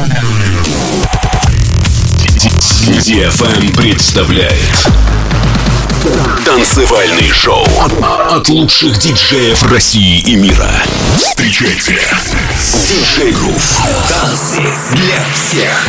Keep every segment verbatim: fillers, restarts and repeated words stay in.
ди эф эм представляет танцевальный шоу от лучших диджеев России и мира. Встречайте, диджей Грув. Танцы для всех.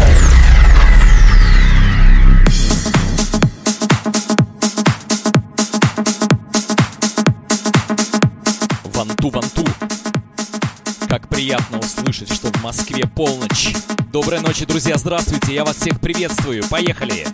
Ванту, ванту. Как приятно услышать, что в Москве полночь. Доброй ночи, друзья, здравствуйте, я вас всех приветствую. Поехали!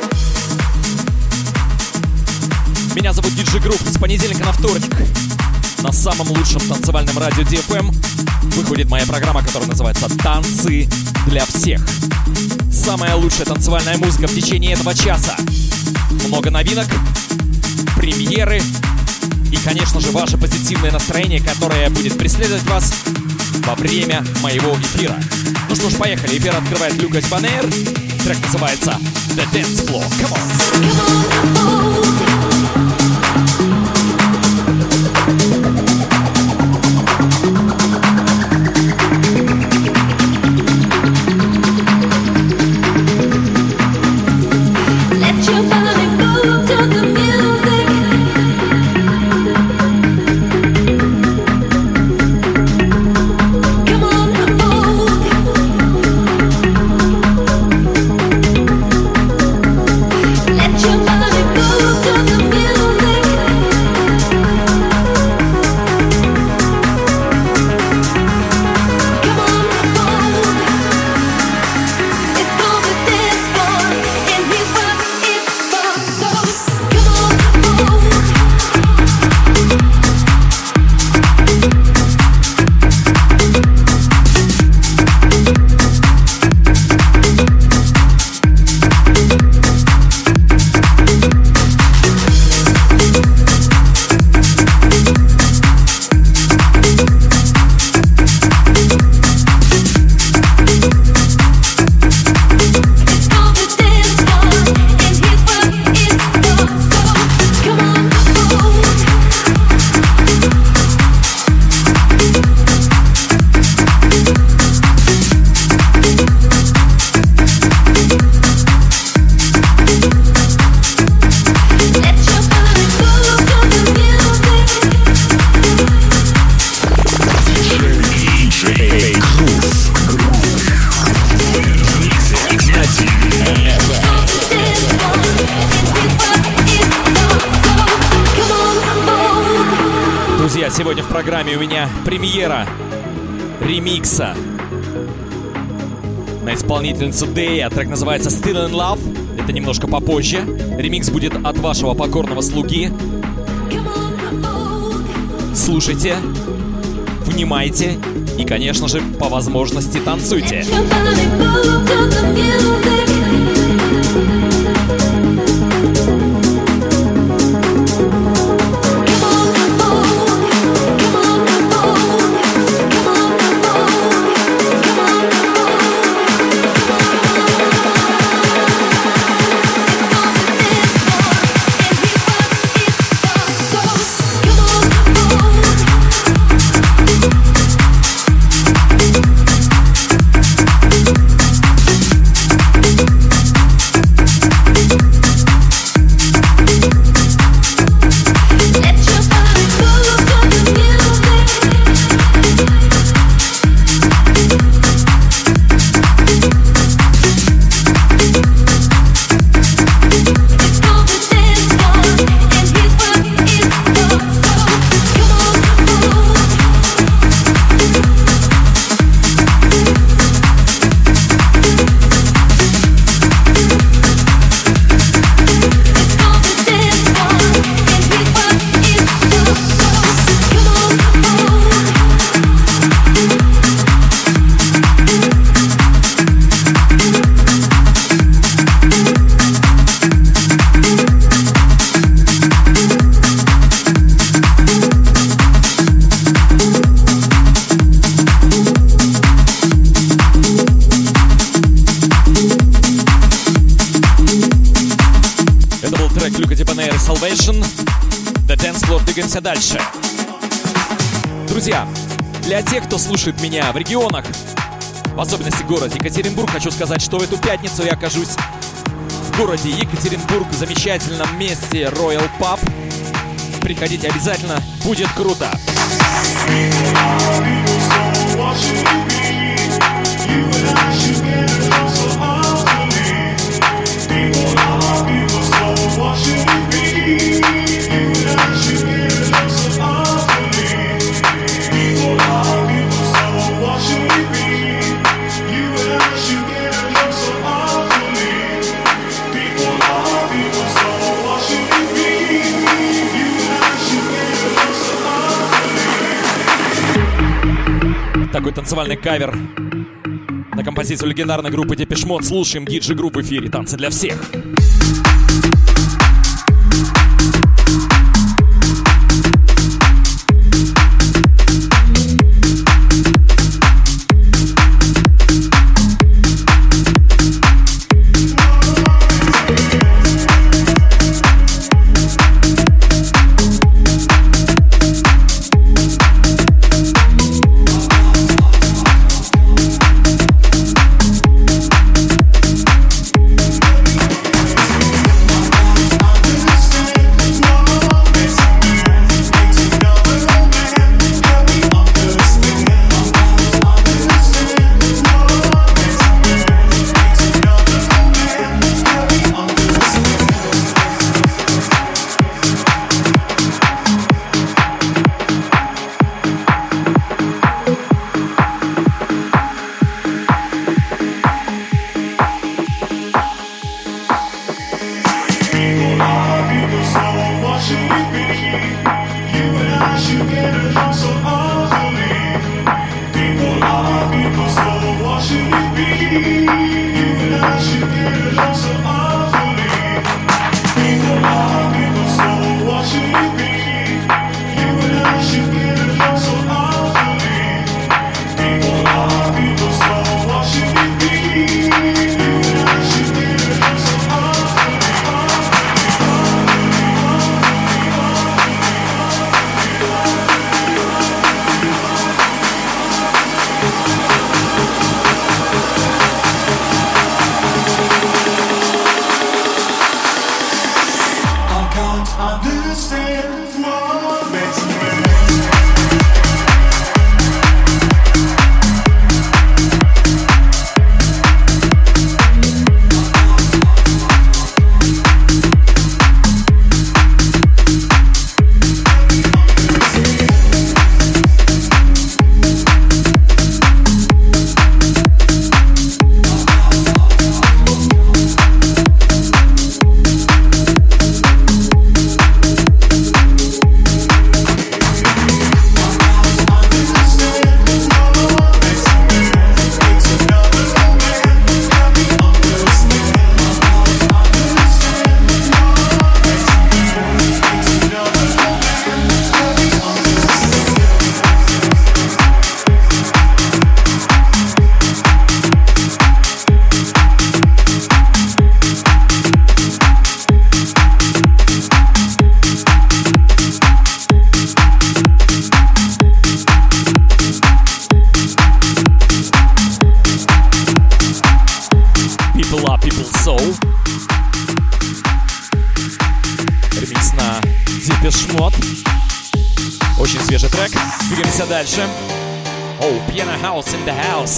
Меня зовут диджей Грув. С понедельника на вторник на самом лучшем танцевальном радио ди эф эм выходит моя программа, которая называется «Танцы для всех». Самая лучшая танцевальная музыка в течение этого часа. Много новинок, премьеры и, конечно же, ваше позитивное настроение, которое будет преследовать вас во время моего эфира. Ну что ж, поехали. Эфир открывает Lucas Bonaire. Трек называется The Dance Floor. Come on. Сегодня в программе у меня премьера ремикса на исполнительницу Дэя. Трек называется Still in Love. Это немножко попозже. Ремикс будет от вашего покорного слуги. Слушайте, внимайте и, конечно же, по возможности танцуйте. The Dance Floor, двигаемся дальше. Друзья, для тех, кто слушает меня в регионах, в особенности город Екатеринбург. Хочу сказать, что в эту пятницу я окажусь в городе Екатеринбург, в замечательном месте Royal Pub. Приходите обязательно, будет круто. Такой танцевальный кавер на композицию легендарной группы Depeche Mode. Слушаем диджей группы в эфире «Танцы для всех». Дальше. Oh, Piano House in the House.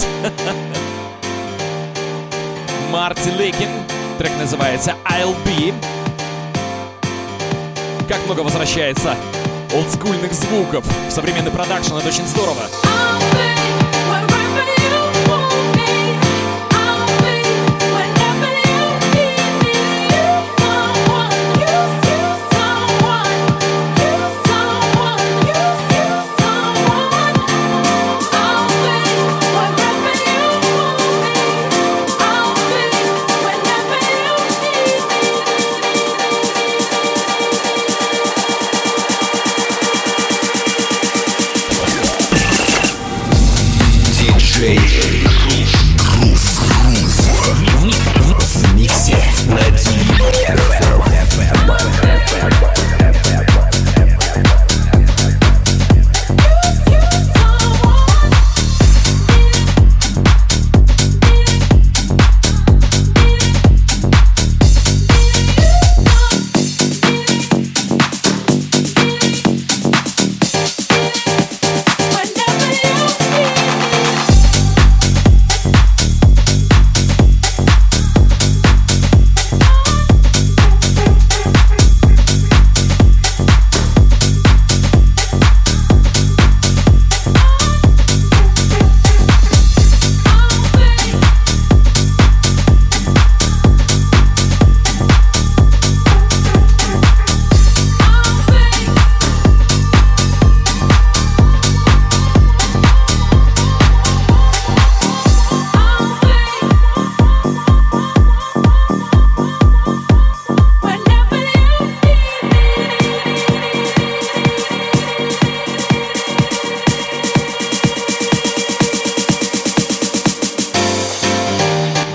Марти Лейкин. Трек называется I'll Be. Как много возвращается олдскульных звуков в современный продакшн. Это очень здорово.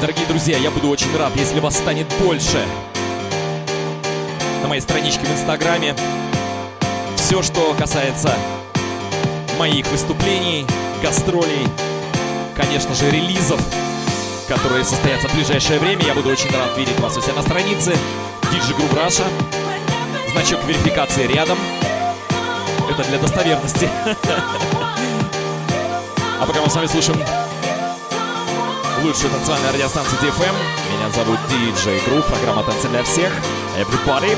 Дорогие друзья, я буду очень рад, если вас станет больше. На моей страничке в Инстаграме все, что касается моих выступлений, гастролей, конечно же, релизов, которые состоятся в ближайшее время. Я буду очень рад видеть вас у себя на странице ди джей Group Russia. Значок верификации рядом. Это для достоверности. А пока мы с вами слушаем лучшую танцевальную радиостанцию ди эф эм. Меня зовут ди джей Group, программа «Танцы для всех». Everybody!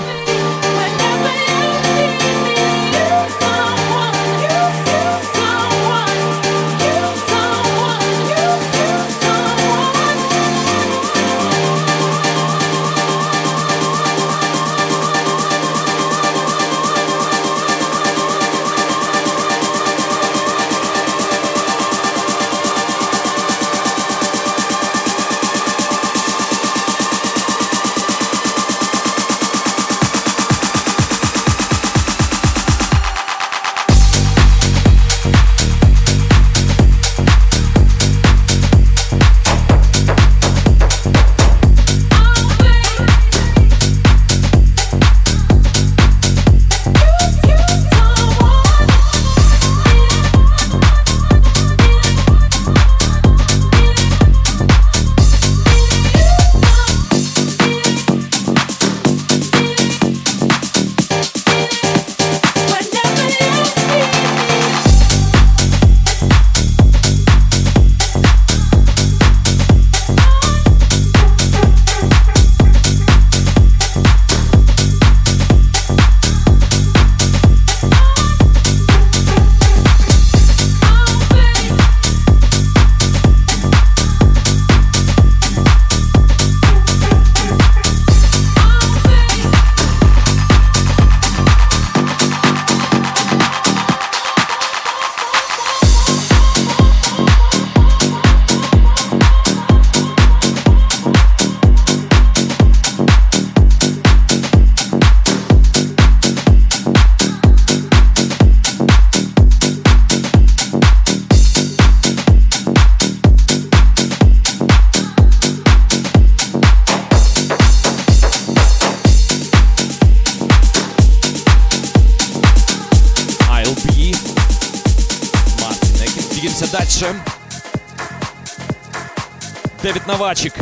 Дэвид Новачек,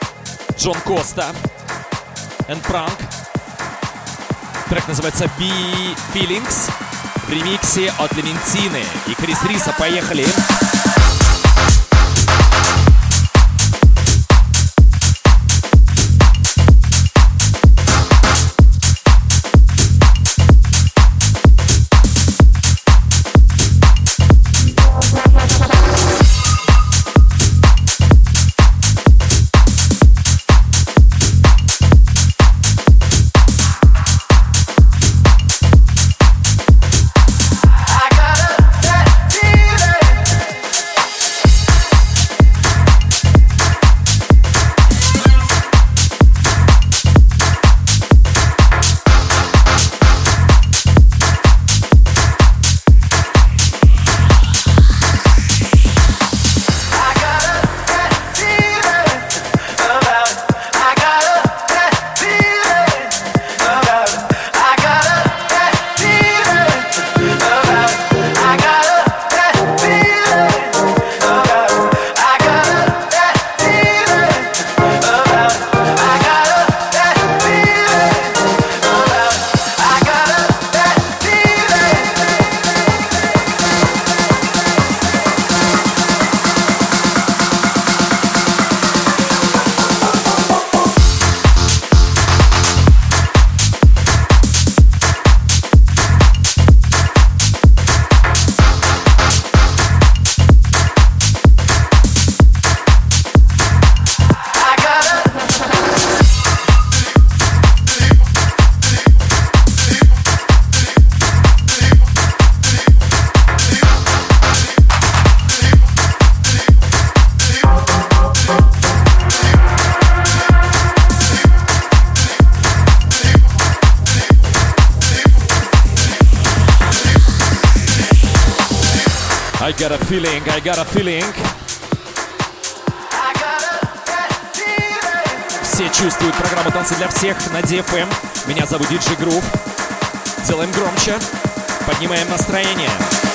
Джон Коста, and Prank. Трек называется Be Feelings в ремиксе от Лементины и Крис Риса. Поехали! I got a feeling, I got a feeling. чувствует программу «Танцы для всех» на ди эф эм. Меня зовут диджей Грув. Делаем громче, поднимаем настроение.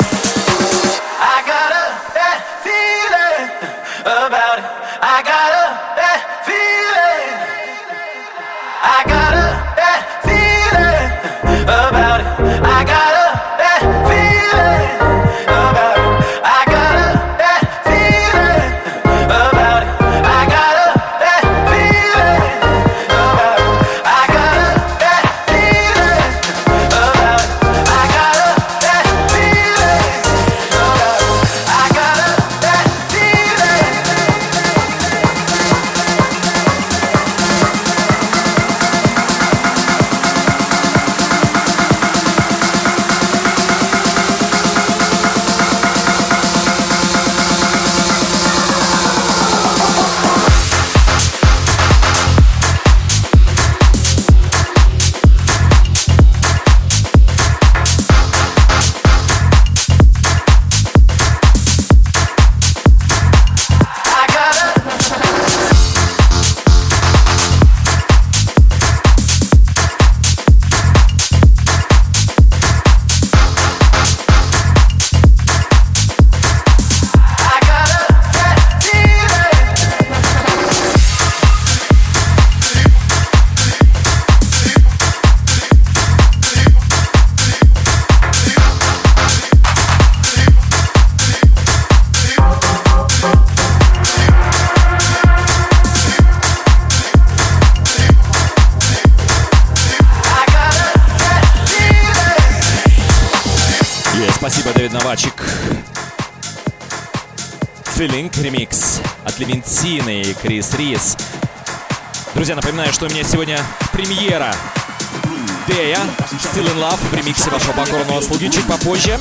Feeling ремикс от Левентины и Крис Рис. Друзья, напоминаю, что у меня сегодня премьера Дея Still in Love в ремиксе вашего покорного слуги чуть попозже.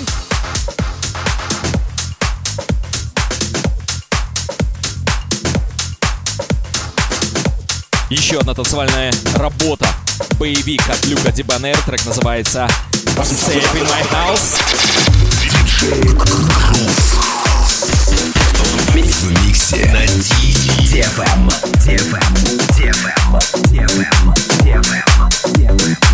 Еще одна танцевальная работа. Боевик от Люка Дибанер. Трек называется Safe in My House. В миксе на ди эф эм. ди эф эм. ди эф эм. ди эф эм. ди эф эм. ди эф эм.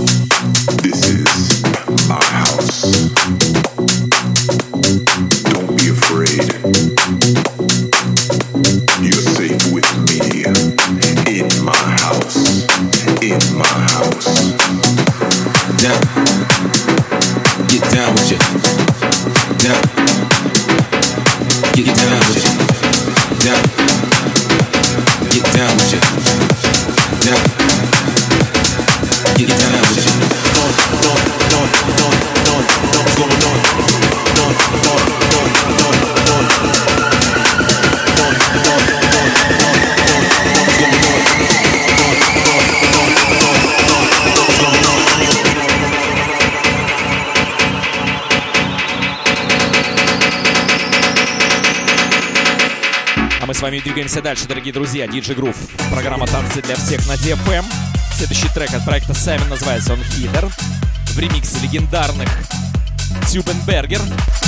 Don't down with you. Down. Get it down with you. Down. Get down with you. Down. Get it down with you. Don't, don't, don't, don't, don't, don't, going on. Don't, don't, don't, don't, don't, don't, don't, don't, going on. Мы с вами двигаемся дальше, дорогие друзья. диджей Groove, программа «Танцы для всех» на ди эф эм. Следующий трек от проекта Seven, называется он «Hitter», в ремиксе легендарных Тюбенбергер.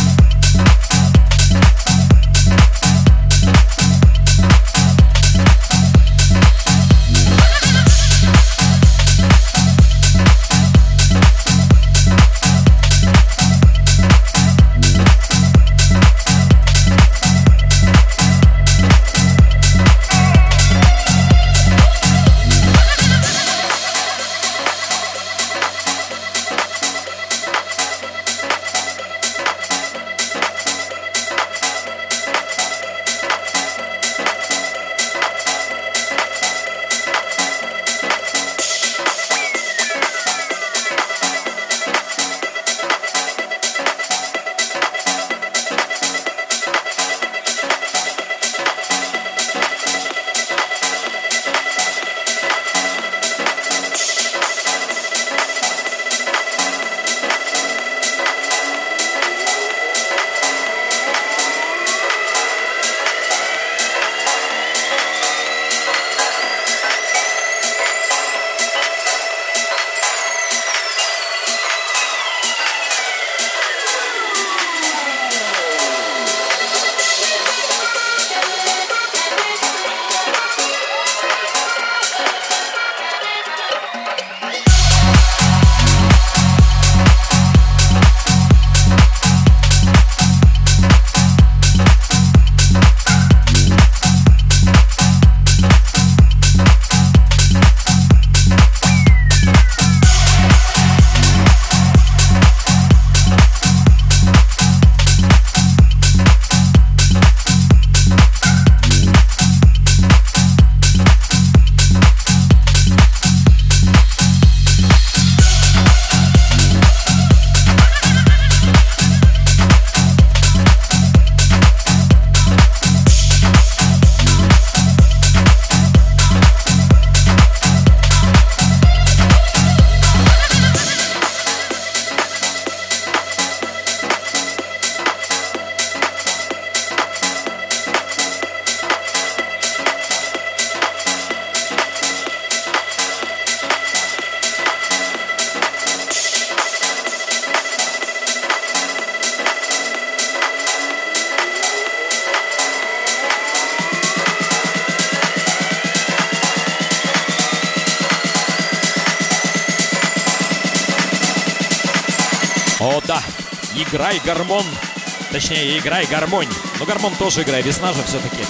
О да, играй гормон. Точнее, играй гармонь. Но гормон тоже играй, весна же все-таки.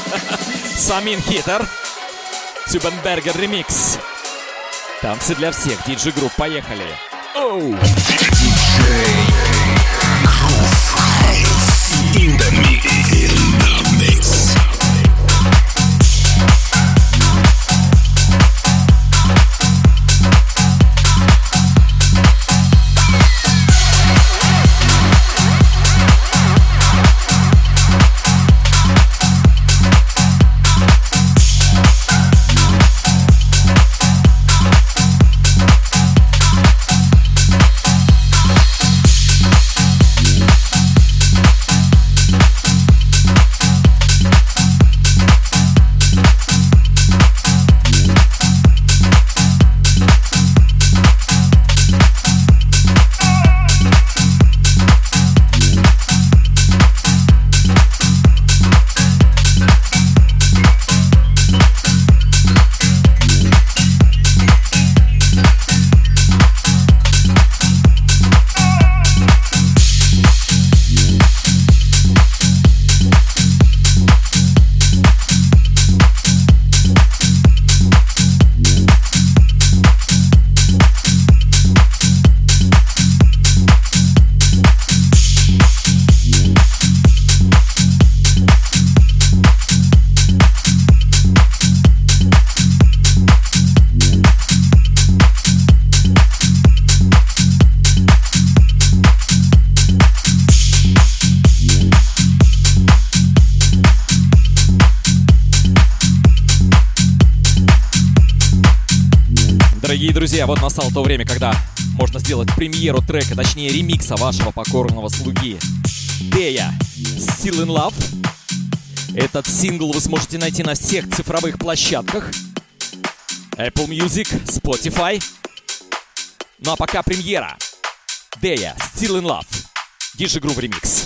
Самин Hitter. Тюбенбергер ремикс. Танцы для всех. диджей Groove, поехали. Оу. диджей Groove in the mix. In the mix. Дорогие друзья, вот настало то время, когда можно сделать премьеру трека, точнее ремикса вашего покорного слуги Дея Still in Love. Этот сингл вы сможете найти на всех цифровых площадках Apple Music, Spotify. Ну а пока премьера Дея Still in Love, ди джей Groove Remix.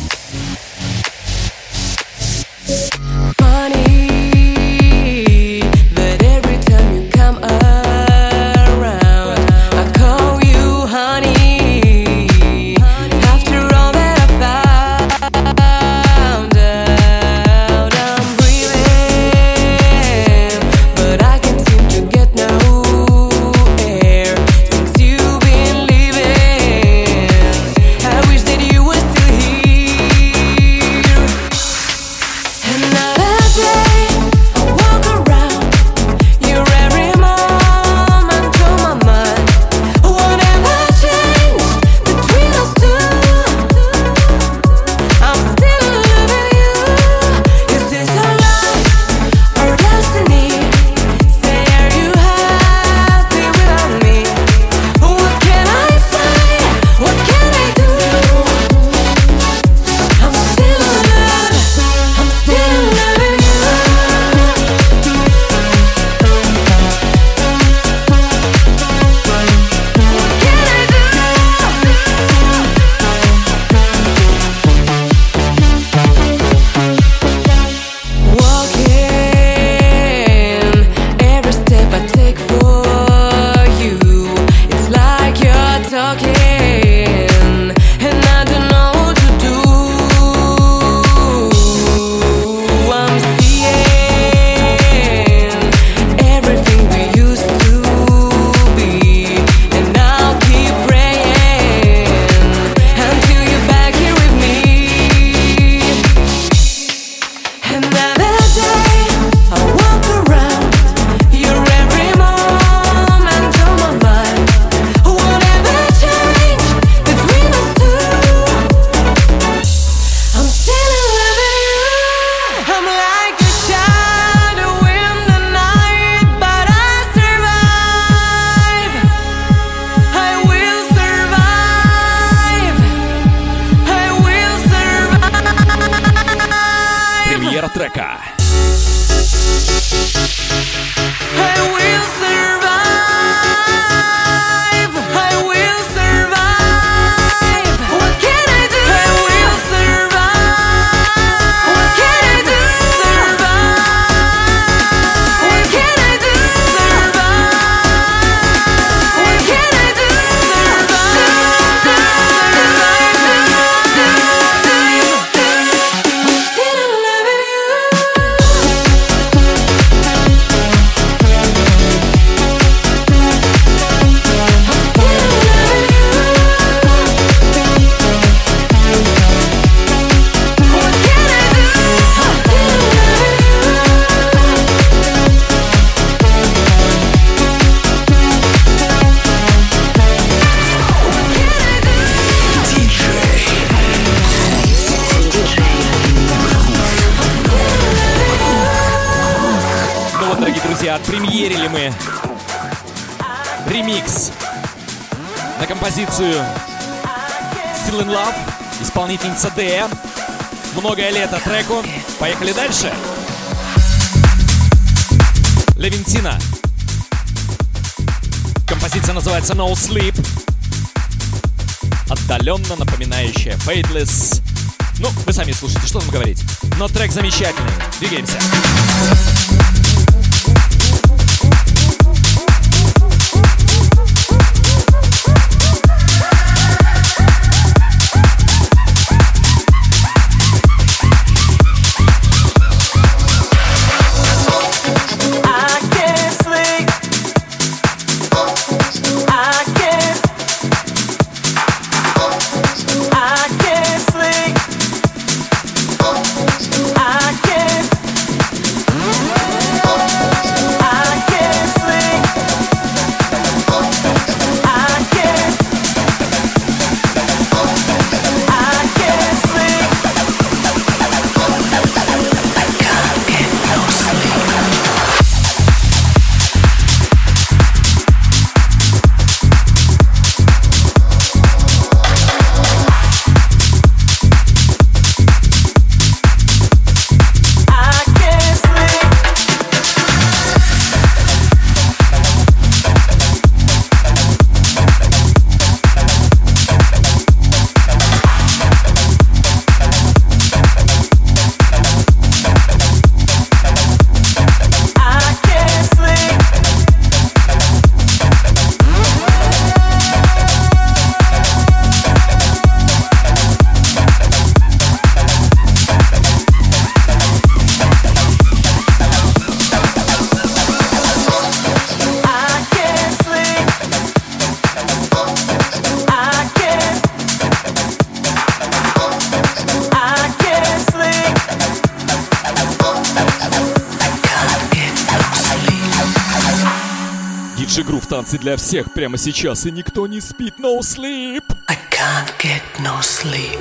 Трека. Отпремьерили мы ремикс на композицию Still in Love, исполнительница Дея. Многое лето треку. Поехали дальше. Левентина. Композиция называется No Sleep. Отдаленно напоминающая Faithless. Ну, вы сами слушайте, что там говорить. Но трек замечательный. Двигаемся. I can't диджей Грув, танцы для всех прямо сейчас, и никто не спит. No sleep. I can't get no sleep.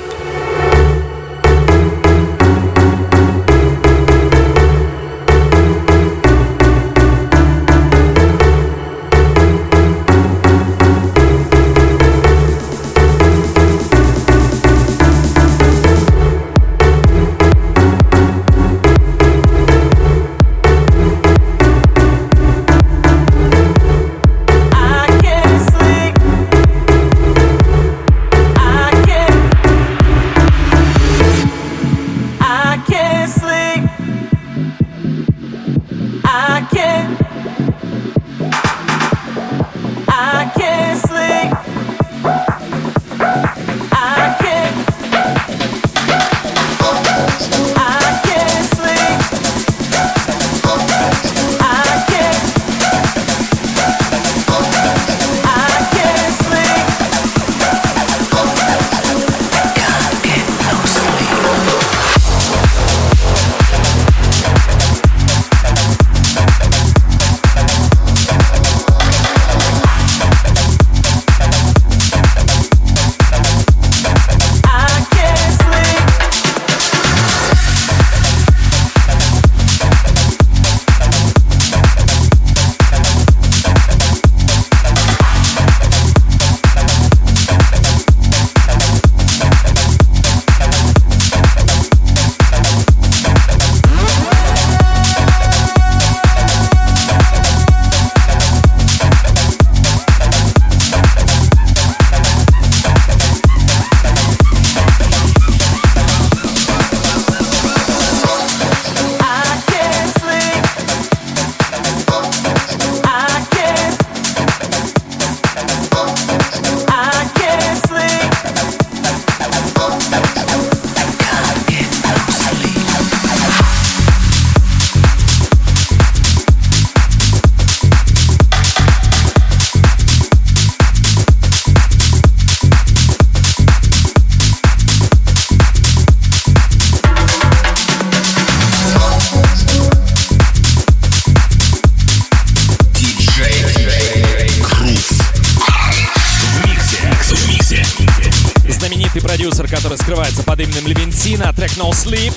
Который скрывается под именем Левентина, трек No Sleep.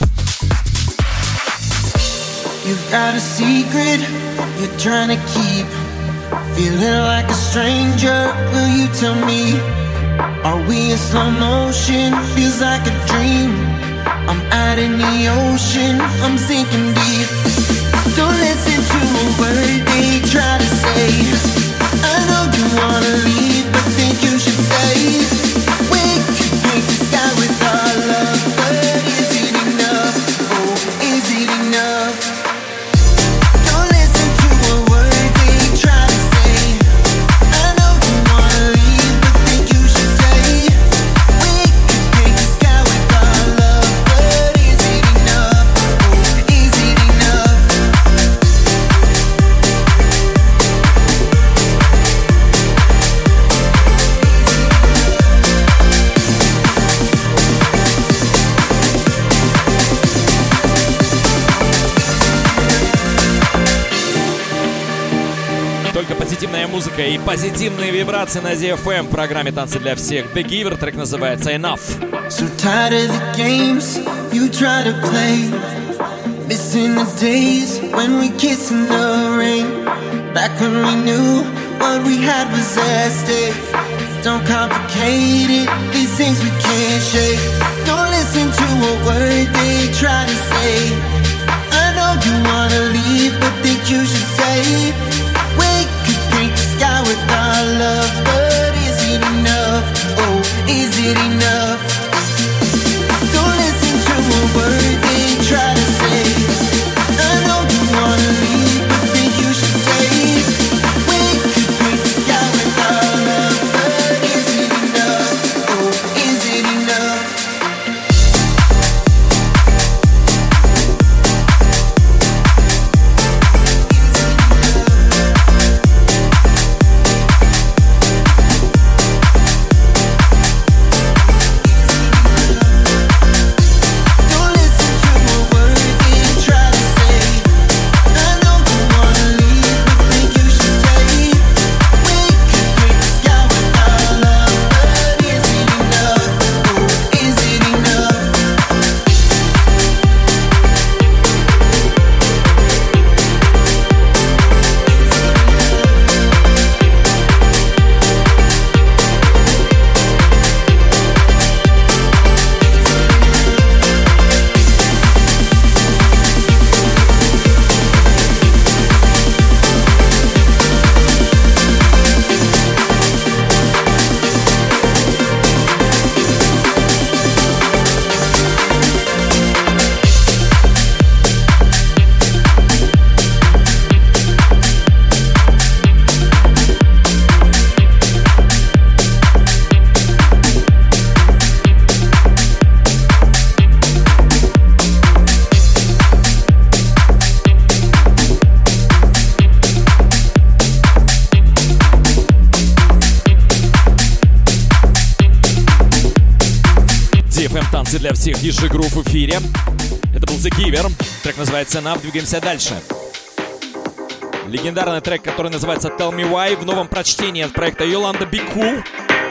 You've got a secret you're trying to keep. Feeling like a stranger, will you tell me? Are we in slow motion? Feels like a dream. I'm out in the ocean, I'm sinking deep. Don't listen to a word they try to say. I know you wanna leave, but think you should stay. We could paint the sky with our love, but is it enough? Oh, is it enough? Don't listen to a word they try to say. I know you wanna leave, but think you should stay. We could paint the sky with our love, but is it enough? Oh, is it enough? Только позитивная музыка и позитивные вибрации на ди эф эм в программе «Танцы для всех». The Giver, трек называется Enough. So tired of the games you try to play. Missing the days when we kissed in the rain. Back when we knew what we had was at stake. Don't complicate it, these things we can't shake. Don't listen to a word they try to say. I know you wanna leave, but think you should stay. We could paint the sky with our love, but is it enough? Oh, is it enough? Don't listen to a word they try to say. I know you wanna leave, but think you should stay. We could paint the sky with our love, but is it enough? Oh, is it enough? Is для всех диджей Groove в эфире. Это был The Giver. Трек называется Enough. Двигаемся дальше. Легендарный трек, который называется Tell Me Why, в новом прочтении от проекта Yolanda Be Cool.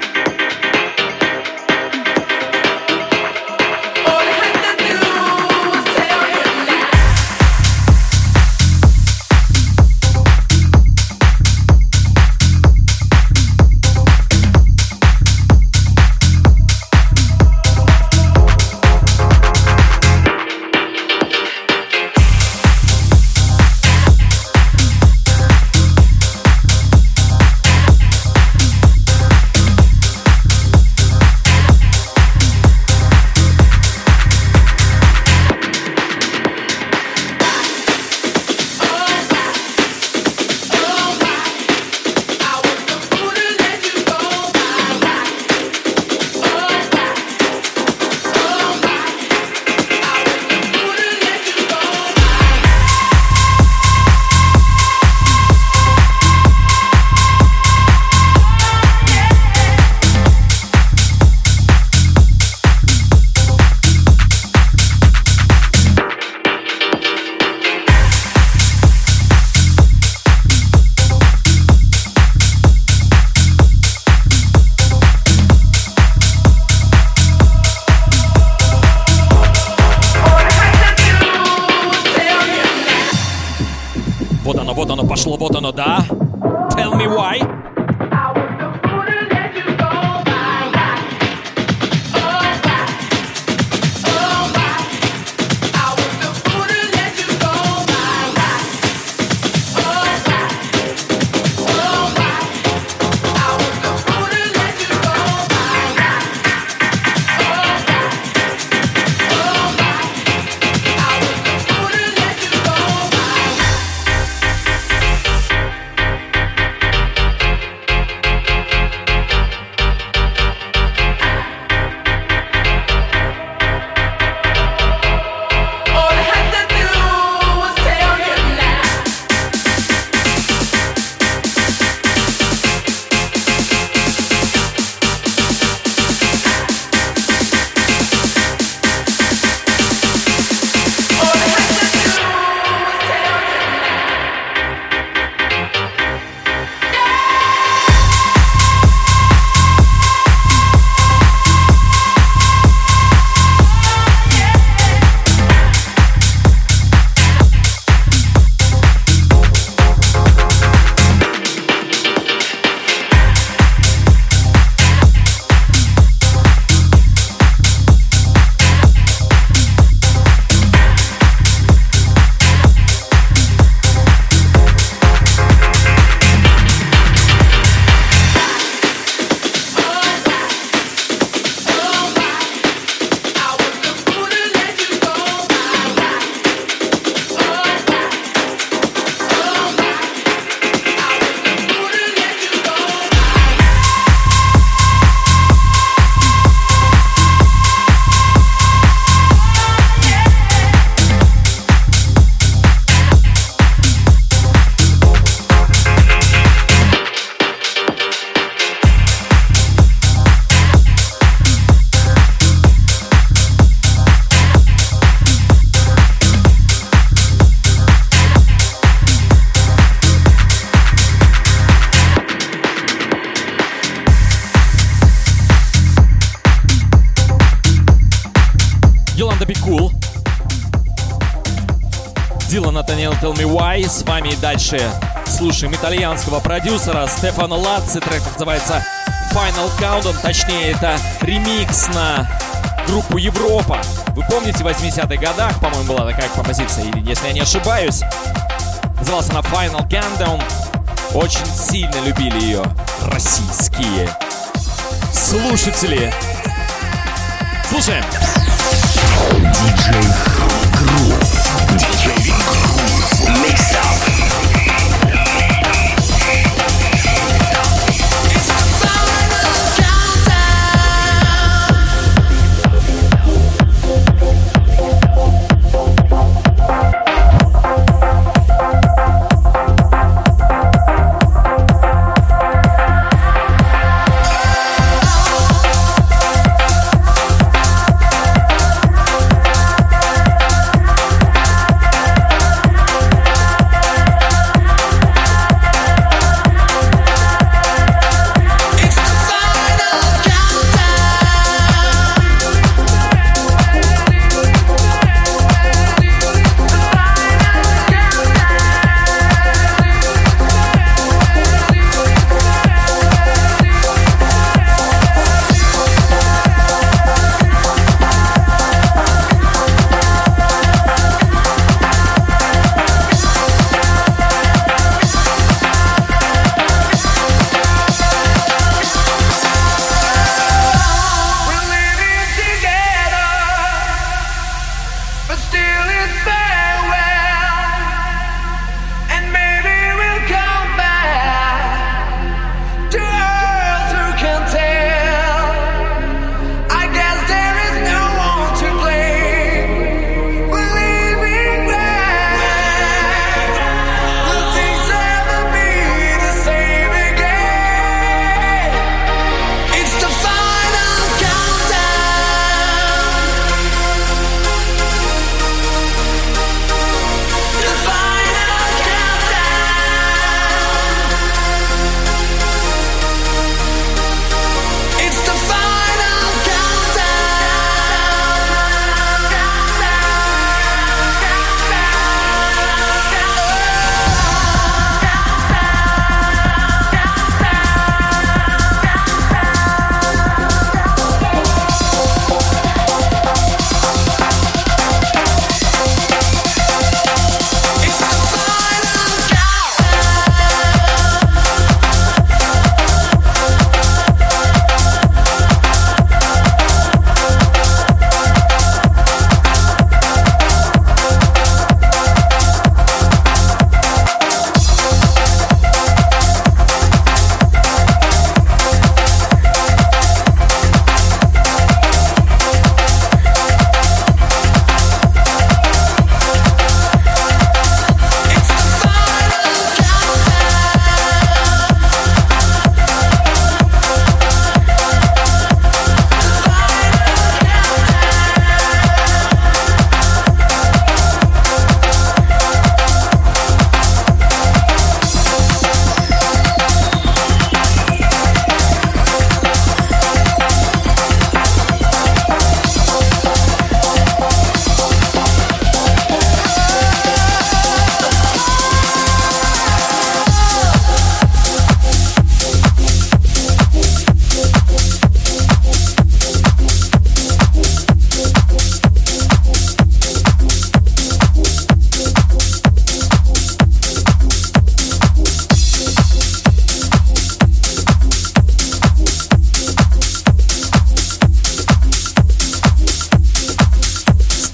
Пошло, вот оно, да? Tell me why. Tell Me Why. С вами дальше слушаем итальянского продюсера Стефано Лацци. Трек называется Final Countdown. Точнее, это ремикс на группу Европа. Вы помните, в восьмидесятых годах, по-моему, была такая композиция, или если я не ошибаюсь, назывался она Final Countdown. Очень сильно любили ее российские слушатели. Слушаем. Диджей Грув. Диджей Грув. Mix up.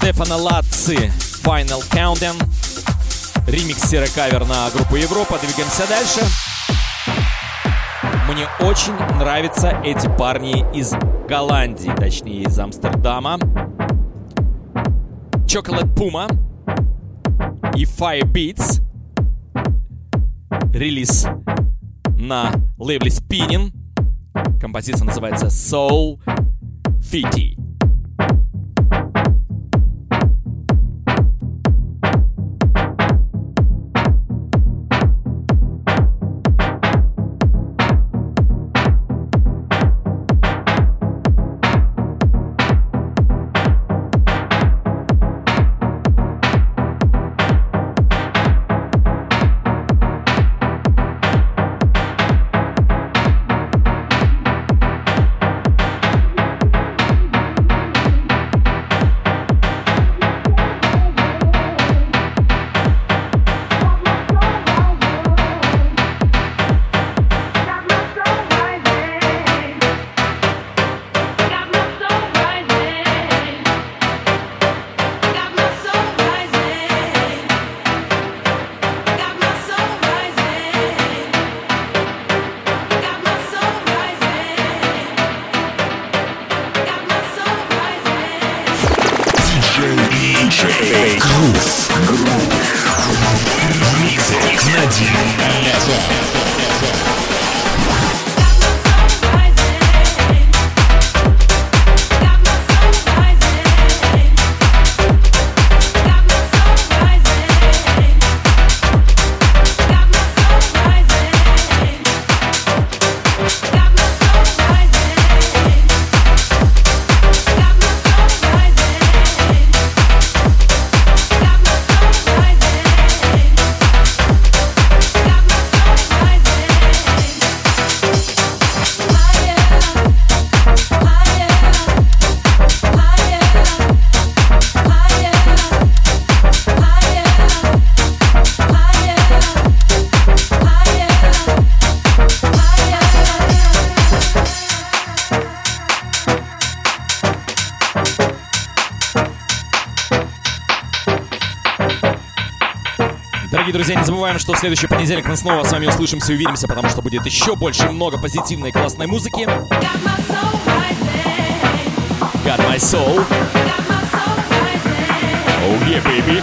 Стефано Лацци Final Countdown. Ремикс серо-кавер на группу Европа. Двигаемся дальше. Мне очень нравятся эти парни из Голландии, точнее из Амстердама. Chocolate Puma и Fire Beats. Релиз на лейбле Spinning. Композиция называется Soul Fitty. Друзья, не забываем, что в следующий понедельник мы снова с вами услышимся и увидимся, потому что будет еще больше много позитивной и классной музыки. Got my soul. Oh yeah, baby.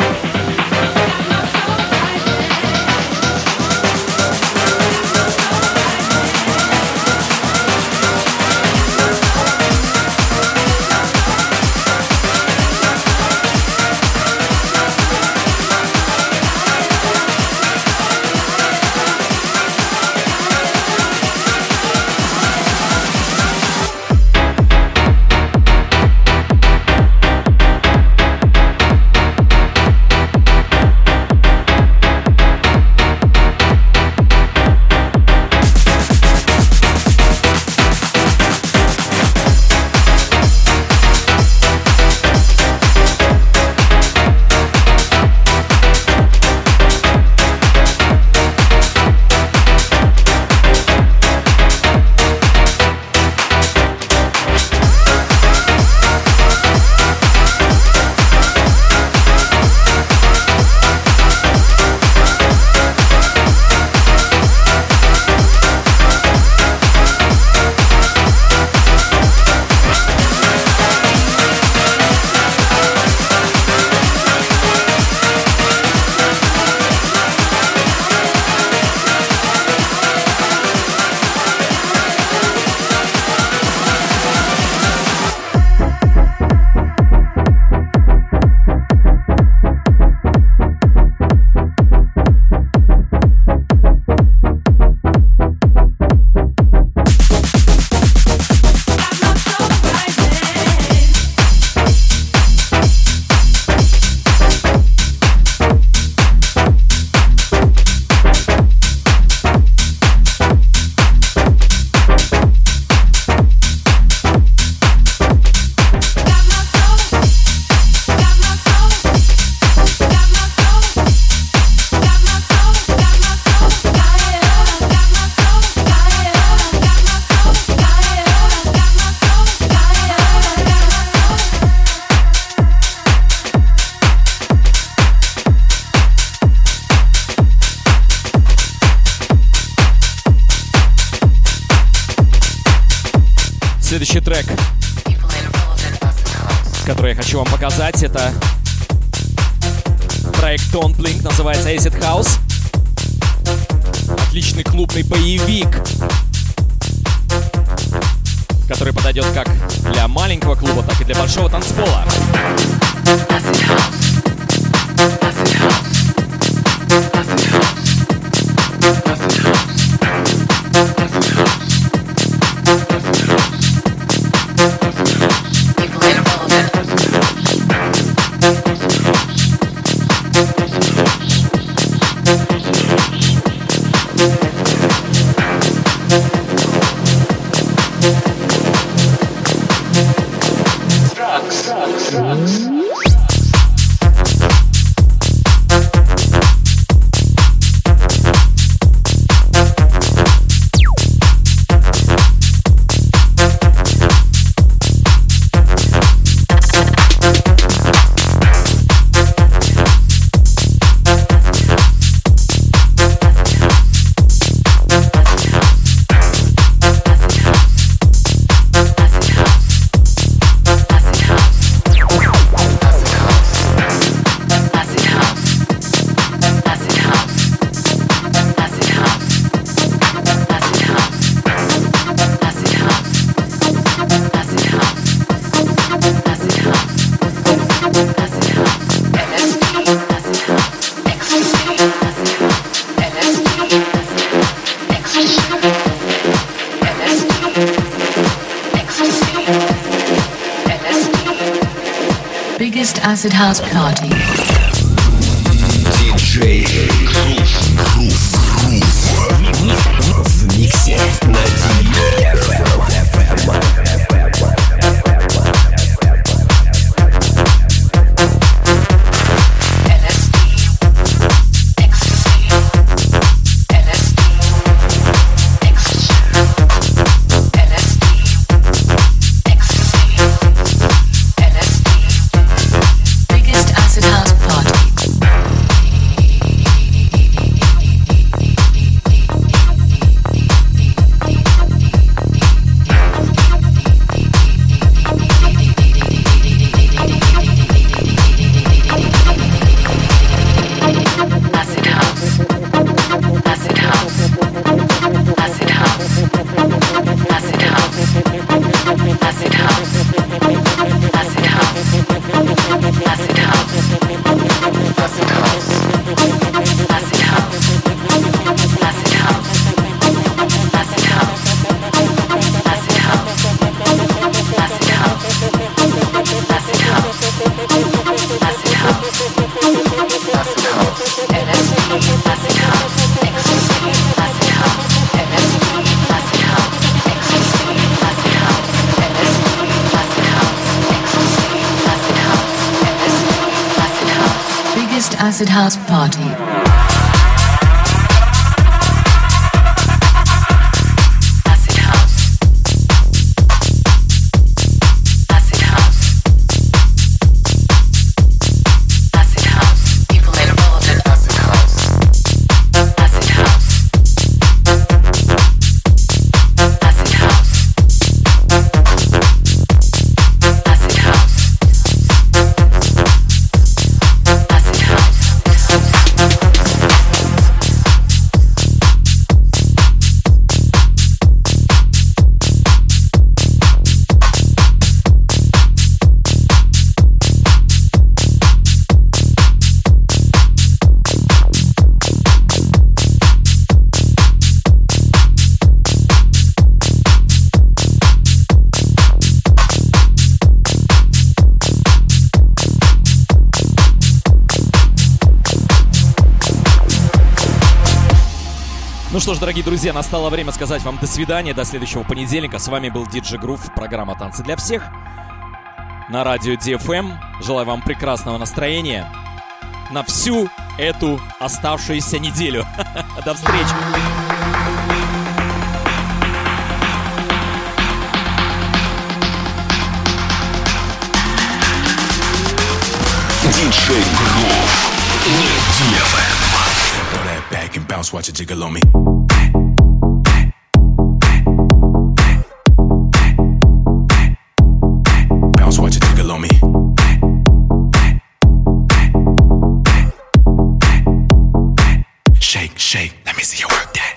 Следующий трек, который я хочу вам показать, это проект Tone-Blink, называется Acid House. Отличный клубный боевик, который подойдет как для маленького клуба, так и для большого танцпола. Acid House Party. Диджей Грув в миксе на ди эф эм. Acid House Party. Ну что ж, дорогие друзья, настало время сказать вам до свидания, до следующего понедельника. С вами был диджей Грув, программа «Танцы для всех» на радио ди эф эм. Желаю вам прекрасного настроения на всю эту оставшуюся неделю. До встречи! Диджей Грув на ди эф эм. Throw that back and bounce, watch it jiggle on me. Shake, shake, let me see you work that.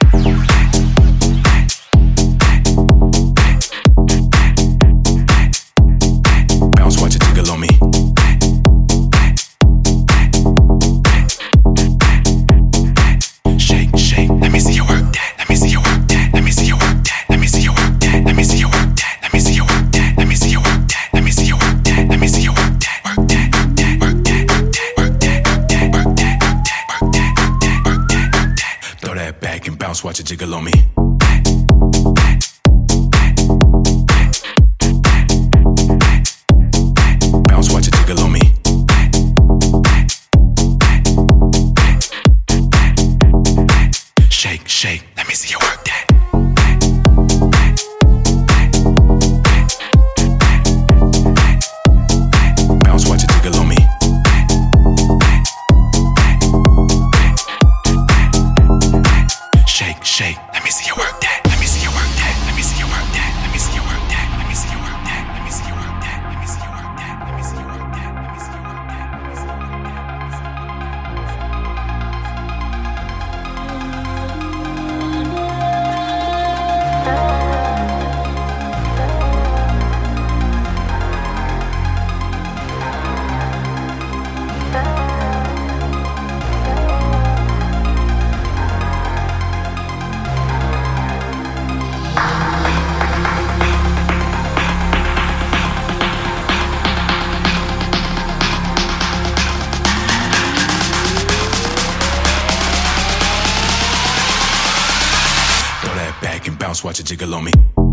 Bounce, watch it jiggle on me. Shake, shake, let me see you work that. Let me see you work that. Let me see you work that. Let me see you work that. Let me see you work that. Let me see you work that. Let me see you work that. Let me see you work that. Let me see you work that. Work that, work that, work that, work that, work that, work that, work that, work that, work that. Throw that back and bounce, watch it jiggle on me. Bounce, watch it jiggle on me. Shake, shake, let me see you work that. Bounce, watch it jiggle on me. Shake, shake, let me see you work that. Let me see you work that. Let me see you work that. Let me see you work that. Let me see you work that. Let me see you work that. Let me see you work that. Let me see you work that. Let me see you work that. Let me see you work Throw that back and bounce, watch it jiggle on me.